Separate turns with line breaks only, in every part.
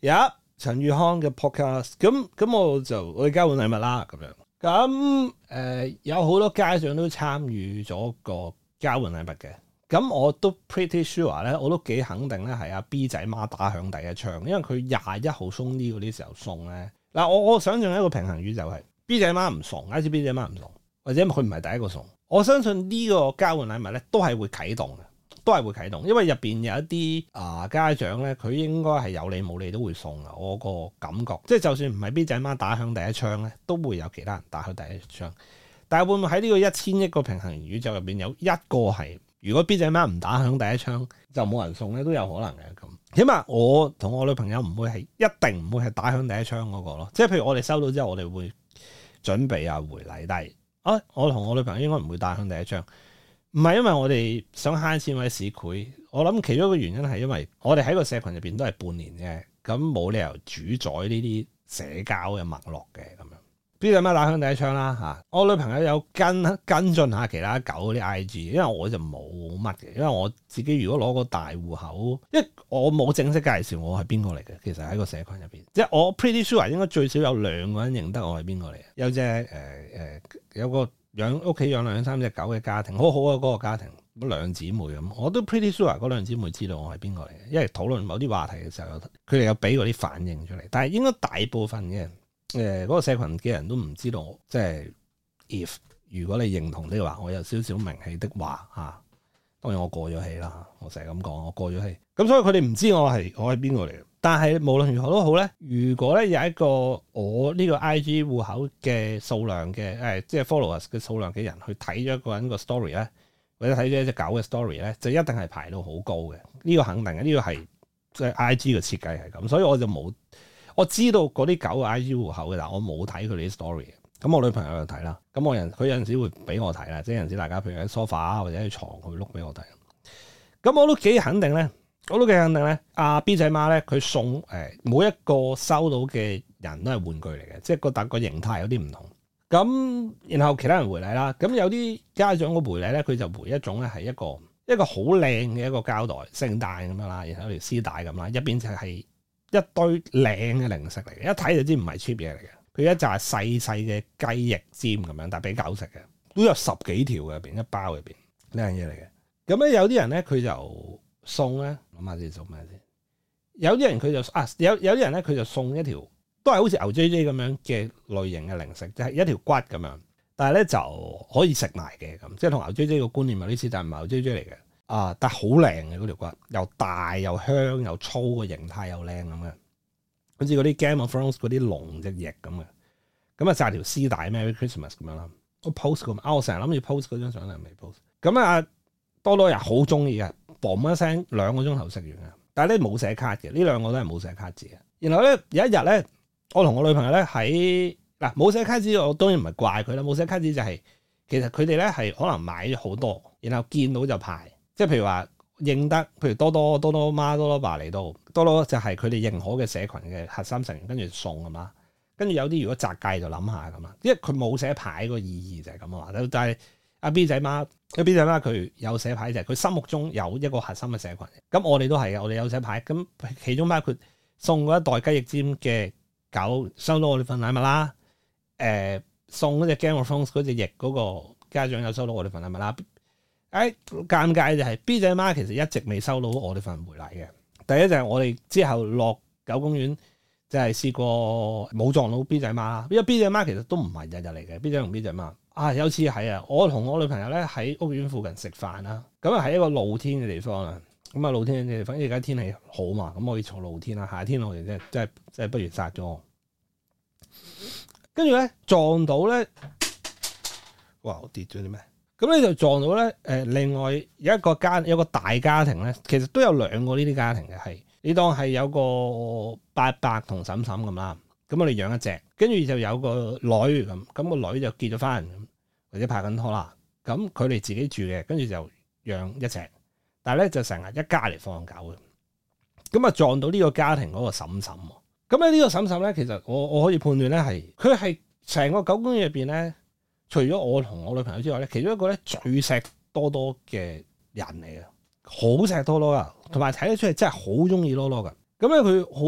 有陳宇康嘅 podcast，咁我哋交換禮物啦咁樣。咁有好多家長都參與咗個交換禮物嘅。咁我都 pretty sure 咧，我都幾肯定咧係阿 B 仔媽打響第一槍，因為佢21號送呢嗰啲時候送咧。嗱，我想象一個平衡宇宙係 B 仔媽唔送，假設 B 仔媽唔送，或者佢唔係第一個送，我相信呢個交換禮物咧都係會啟動嘅，都係會啟動，因為入邊有一啲家長咧，佢應該係有理冇理都會送嘅。我個感覺，即係就算唔係 B 仔媽打響第一槍咧，都會有其他人打響第一槍。但係會唔會喺呢個1000億個平衡宇宙入邊有一個係？如果 B 仔媽唔打響第一槍，就冇人送咧，都有可能嘅咁。起碼我同我女朋友唔會係一定唔會係打響第一槍嗰個咯。即係譬如我哋收到之後，我哋會準備回禮，但係我同我女朋友應該唔會打響第一槍。唔係因為我哋想慳錢或者市儈，我諗其中一個原因係因為我哋喺個社群入邊都係半年嘅，咁冇理由主宰呢啲社交嘅脈絡嘅咁樣。B 仔媽打響第一槍啦嚇，我女朋友有跟進下其他狗嗰啲 IG，因為我就冇乜嘅，因為我自己如果攞個大戶口，因為我冇正式介紹我係邊個嚟嘅，其實喺個社群入邊，即係我 pretty sure 應該最少有2個人認得我係邊個嚟嘅，有隻有個屋企養2-3隻狗嘅家庭，好好啊嗰個家庭，兩姊妹咁，我都 pretty sure 嗰兩姊妹知道我係邊個嚟嘅，因為討論某啲話題嘅時候，佢哋有俾嗰啲反應出嚟，但係應該大部分嘅。嗰個社群嘅人都唔知道，即係 if 如果你認同的話，我有少少名氣的話嚇，當然我過咗氣啦，我成日咁講，我過咗氣，咁所以佢哋唔知我係邊個嚟嘅。但係無論如何都好咧，如果咧有一個我呢個 IG 戶口嘅數量嘅即係 followers 嘅數量嘅人去睇咗一個人個 story 咧，或者睇咗一隻狗嘅 story 咧，就一定係排到好高嘅。呢個肯定嘅，呢個係即係 IG 嘅設計係咁，所以我就冇。我知道嗰啲狗嘅 IG 戶口嘅，但我冇睇佢哋啲 story 嘅。咁我女朋友就睇啦。咁佢有陣時會俾我睇啦，即係有陣時大家譬如喺 sofa 或者喺床，佢會碌俾我睇。咁我都幾肯定咧，阿 B 仔媽咧，佢送每一個收到嘅人都係玩具嚟嘅，即係個形態有啲唔同。咁然後其他人回禮啦，咁有啲家長嘅回禮咧，佢就回一種咧係一個好靚嘅一個膠袋，聖誕咁樣啦，然後有條絲帶咁啦，入邊就係一堆靚嘅零食嚟嘅，一睇就知唔係 cheap 嘢嚟嘅。佢一紮細細嘅雞翼尖咁樣，但係俾狗食嘅，都有10幾條嘅入邊，一包入邊靚嘢嚟嘅。咁咧有啲人咧佢就送咧，諗下先送咩先。有啲人佢就有啲人咧佢就送一條都係好似牛 JJ 咁樣嘅類型嘅零食，即係一條骨咁樣，但係咧就可以食埋嘅咁，即係同牛 JJ 個觀念有啲似，但係唔係牛 JJ 嚟嘅。但係好靚嘅嗰條骨，又大又香又粗，個形態又靚咁嘅，好似嗰啲 Game of Thrones 嗰啲龍隻翼咁嘅。咁啊，紮條絲帶 Merry Christmas 咁樣啦。我 post 我成日諗住 post 嗰張相，但係未 post。咁啊，多多人好中意嘅，嘣一聲2個鐘頭食完嘅。但係咧冇寫卡嘅，呢2個都係冇寫卡字嘅。然後咧有一日咧，我同我女朋友咧喺冇寫卡字，我當然唔係怪佢啦。冇寫卡字就係、其實佢哋咧係可能買咗好多，然後見到就排。即係譬如話認得，譬如多多媽、多多爸嚟到，多多就係佢哋認可嘅社群嘅核心成員，跟住送咁啦。跟住有啲如果擇計就諗下咁啦，因為佢冇寫牌個意義就係咁啊嘛。但係阿 B 仔媽佢有寫牌，就係佢心目中有一個核心嘅社群。咁我哋都係嘅，我哋有寫牌。咁其中包括送嗰一袋雞翼尖嘅狗收到我哋份禮物啦。送嗰隻 Game of Thrones 嗰隻翼嗰個家長有收到我哋份禮物啦。尷尬就係 B 仔媽其實一直未收到我哋份回禮嘅。第一就係我哋之後落狗公園就係試過冇撞到 B 仔媽，因為 B 仔媽其實都唔係日日嚟嘅。B 仔同 B 仔媽有次係我同我女朋友咧喺屋苑附近食飯啦，咁啊喺一個露天嘅地方啦，咁啊露天嘅地方，而家天氣好嘛，咁可以坐露天啦。夏天我哋真係不如殺咗我。跟住咧撞到咧，哇！我跌咗啲咩？咁咧就撞到咧，另外有個大家庭咧，其實都有2個呢啲家庭嘅，係你當係有個伯伯同嬸嬸咁啦，咁我哋養一隻，跟住就有個女咁個女就結咗婚，或者拍緊拖啦，咁佢哋自己住嘅，跟住就養一隻，但係咧就成日一家嚟放狗嘅，咁啊撞到呢個家庭嗰個嬸嬸，咁咧呢個嬸嬸咧，其實我可以判斷咧佢係成個狗公園入邊咧。除咗我同我女朋友之外咧，其中一個咧最錫多多嘅人嚟嘅，好錫多多噶，同埋睇得出嚟真係好中意多多噶。咁咧佢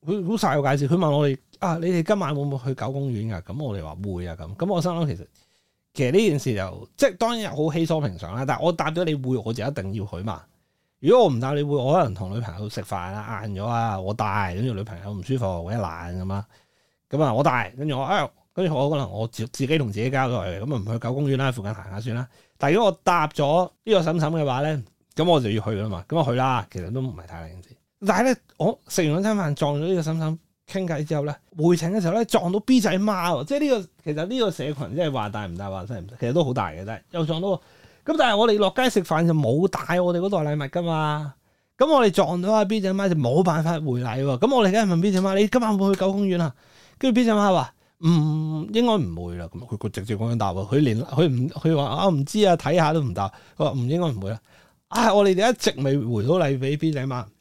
佢好晒我介紹，佢問我哋你哋今晚會唔會去狗公園㗎？咁我哋話會啊咁。咁我心諗其實呢件事就即係當然好稀疏平常啦。但係我答咗你會，我就一定要去嘛。如果我唔答你會，我可能同女朋友食飯啦，晏咗啊，我帶，跟住女朋友唔舒服，我一懶咁啊，咁啊我帶，跟住我可能我自己同自己交代嘅，咁啊唔去狗公園啦，附近行下算啦。但係如果我答咗呢個嬸嬸嘅話咧，咁我就要去啦嘛，咁我去啦，其實都唔係太大件事。但係咧，我食完嗰餐飯撞咗呢個嬸嬸傾偈之後咧，回程嘅時候咧撞到 B 仔媽，即係其實呢個社群即係話大唔大話細唔細，其實都好大嘅，但係又撞到。咁但係我哋落街食飯就冇帶我哋嗰袋禮物噶嘛，咁我哋撞到阿 B 仔媽就冇辦法回禮喎。咁我哋梗係問 B 仔媽：你今晚會唔會去狗公園啊？跟住 B 仔媽話：應該唔會啦。咁佢直接咁樣答喎，佢話唔知啊，睇下都唔答。佢話應該唔會啦。我哋一直未回到禮俾 B 仔媽。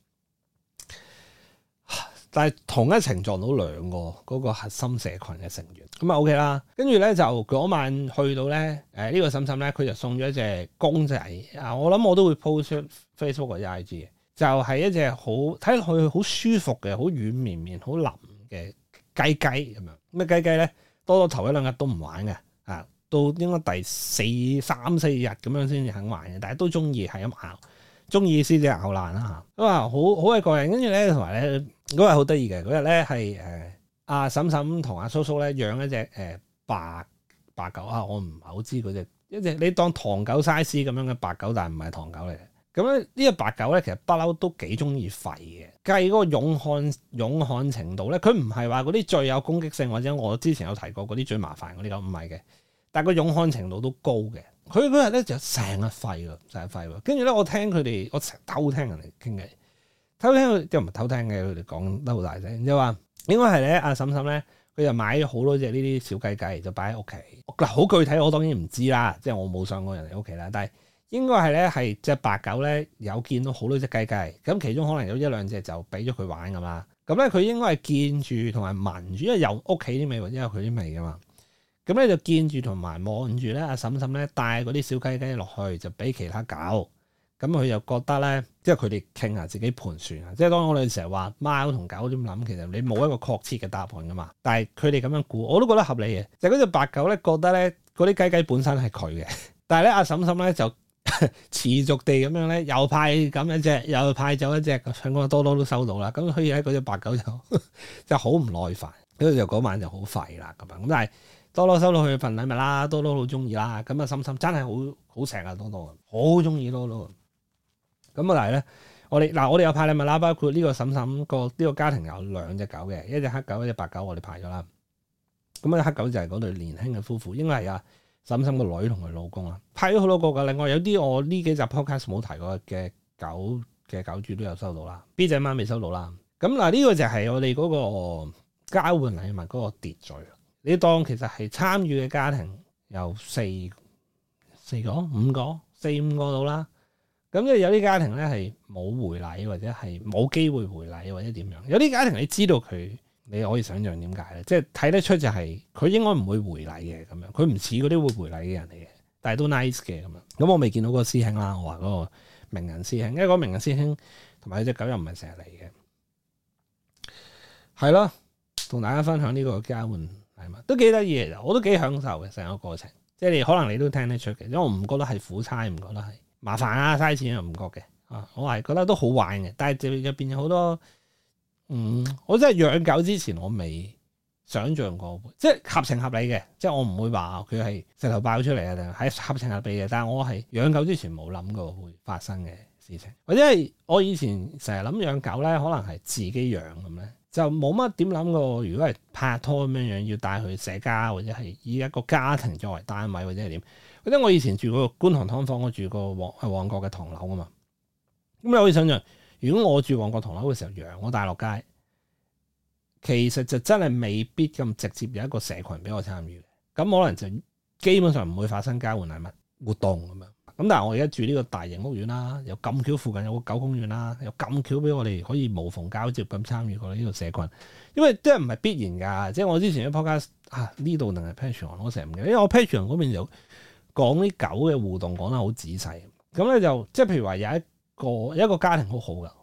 但係同一程撞到兩個嗰個核心社群嘅成員，咁啊 OK 啦。跟住咧就嗰晚去到咧，呢個嬸嬸咧佢就送咗一隻公仔啊！我諗我都會 post 出 Facebook 或者 IG 嘅，就係一隻好睇落去好舒服嘅、好軟綿綿、好腍嘅雞雞咁樣。咩雞雞咧？多頭一兩日都唔玩嘅，到應該第三四日咁樣先至肯玩嘅，但係都中意係咁咬。中意先至咬爛啦嚇，咁啊好鬼過癮。跟住咧同埋咧嗰日好得意嘅，嗰日咧係阿嬸嬸同阿叔叔咧養一隻白狗啊，我唔係好知嗰隻一隻你當唐狗 size 咁樣嘅白狗，但係唔係唐狗嚟嘅。咁咧呢隻白狗咧其實不嬲都幾中意吠嘅，計嗰個勇悍程度咧，佢唔係話嗰啲最有攻擊性或者我之前有提過嗰啲最麻煩嗰啲狗唔係嘅，但係個勇悍程度都高嘅。佢嗰日咧就成日吠喎，跟住咧我聽佢哋，我成日偷聽人哋傾偈，偷聽佢即係唔係偷聽嘅，佢哋講得好大聲，就話應該係咧阿嬸嬸咧，佢就買咗好多隻呢啲小雞雞，就擺喺屋企。嗱，好具體我當然唔知啦，即係我冇上過人哋屋企啦，但係應該係咧係隻白狗咧有見到好多隻雞雞，咁其中可能有一兩隻就俾咗佢玩㗎嘛，咁咧佢應該係見住同埋聞住，因為有屋企啲味或者有佢啲味㗎嘛。咁咧就見住同埋望住咧，阿嬸嬸咧帶嗰啲小雞雞落去，就俾其他狗。咁佢又覺得咧，即係佢哋傾下自己盤算啊。即係當我哋成日話貓同狗點諗，其實你冇一個確切嘅答案噶嘛。但係佢哋咁樣估，我都覺得合理嘅。就嗰隻白狗咧，覺得咧嗰啲雞雞本身係佢嘅，但係咧阿嬸嬸咧就持續地咁樣咧，又派咁一隻，又派走一隻，香港多多都收到啦。咁所以咧嗰隻白狗就好唔耐煩，跟住就嗰晚就好廢啦咁樣。咁但係多多收到佢份禮物啦，多多好中意啦，咁啊嬸嬸真係好錫啊多多，好中意多多。咁啊但係咧，我哋有派禮物啦，包括呢個嬸嬸呢個家庭有兩隻狗嘅，一隻黑狗，一隻白狗，我哋派咗啦。咁啊黑狗就係嗰對年輕嘅夫婦，應該係阿嬸嬸個女同佢老公啊，派咗好多個噶。另外有啲我呢幾集 podcast 冇提過嘅狗主都有收到啦，B 仔媽未收到啦。咁嗱呢個就係我哋嗰個交換禮物嗰個秩序。你當其實係參與嘅家庭有四個、五個到啦。咁即係有啲家庭咧係冇回禮或者係冇機會回禮或者點樣。有啲家庭你知道佢，你可以想象點解咧？即係睇得出就係佢應該唔會回禮嘅咁樣。佢唔似嗰啲會回禮嘅人嚟嘅，但係都 nice 嘅咁樣。咁我未見到嗰個師兄啦，我話嗰個名人師兄，因為嗰個名人師兄同埋隻狗又唔係成日嚟嘅。係咯，同大家分享呢個交換。都幾得意嘅，我都幾享受嘅成個過程。即係你可能你都聽得出嘅，因為我唔覺得係苦差，唔覺得係麻煩啊，嘥錢又唔覺嘅。我係覺得都好玩嘅。但係就入邊有好多，我真係養狗之前我未想象過，即係合情合理嘅。即係我唔會話佢係石頭爆出嚟啊，定係合情合理嘅。但係我係養狗之前冇諗過會發生嘅事情，或者係我以前成日諗養狗咧，可能係自己養咁咧。就冇乜點諗過，如果係拍拖咁樣要帶佢社交，或者係以一個家庭作為單位，或者係點？或者我以前住過觀塘劏房，我住過旺角嘅唐樓啊嘛。咁你可以想象，如果我住旺角唐樓嘅時候養我帶落街，其實就真係未必咁直接有一個社群俾我參與。咁可能就基本上唔會發生交換禮物活動咁樣。咁但係我而家住呢個大型屋苑啦，又咁巧附近有個狗公園啦，又咁巧俾我哋可以無縫交接咁參與過呢個社群，因為即係唔係必然㗎，即係我之前啲 podcast 呢度定係 Patreon 我成日唔記得，因為我 Patreon 嗰邊就講啲狗嘅互動講得好仔細，咁咧就即係譬如話有一個家庭好好㗎，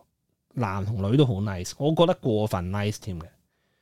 男同女都好 nice，我覺得過分 nice 添嘅，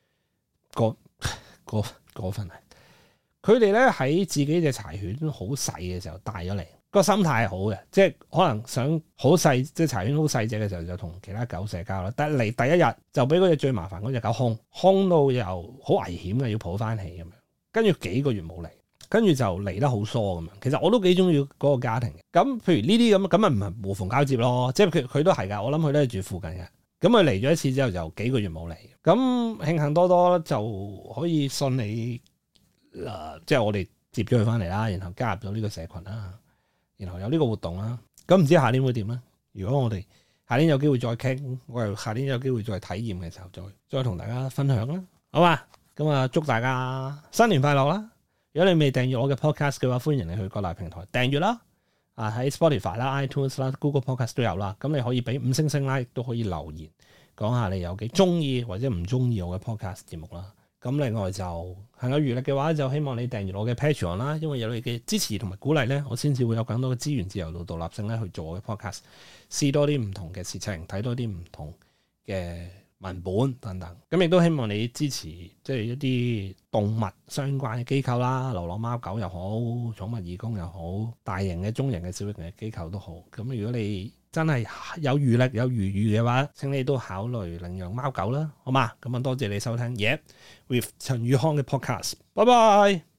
過分係。佢哋咧喺自己隻柴犬好細嘅時候帶咗嚟，個心態係好嘅，即係可能想好細，即係柴犬好細隻嘅時候就同其他狗社交啦。但係嚟第一日就俾嗰隻最麻煩嗰隻狗兇到又好危險嘅，要抱翻起咁樣。跟住幾個月冇嚟，跟住就嚟得好疏咁樣。其實我都幾中意嗰個家庭嘅。咁譬如呢啲咁咪唔係無縫交接咯，即係佢都係㗎。我諗佢都係住附近嘅。咁佢嚟咗一次之後就幾個月冇嚟。咁慶幸多多就可以順利。即係我哋接咗佢翻嚟啦，然後加入咗呢個社群啦，然後有呢個活動啦。咁唔知下年會點咧？如果我哋下年有機會再傾，我又下年有機會再體驗嘅時候，再同大家分享啦，好嘛？咁啊，祝大家新年快樂啦！如果你未訂閱我嘅 podcast 嘅話，歡迎你去各大平台訂閱啦。啊，喺 Spotify 啦、iTunes 啦、Google Podcast 都有啦。咁你可以俾5星星啦，亦都可以留言講下你有幾中意或者唔中意我嘅 podcast 節目啦。咁另外就行有餘力嘅話，就希望你訂閱我嘅 Patreon 啦，因為有你嘅支持同埋鼓勵咧，我先至會有更多嘅資源、自由度、獨立性咧去做我嘅 podcast， 試多啲唔同嘅事情，睇多啲唔同嘅文本等等。咁亦都希望你支持即係一啲動物相關嘅機構啦，流浪貓狗又好，寵物義工又好，大型嘅、中型嘅、小型嘅機構都好。咁如果你真係有餘力、有餘裕嘅話，請你都考慮領養貓狗啦，好嘛？咁啊，多謝你收聽，Yeah with 陳宇康嘅 podcast，拜拜。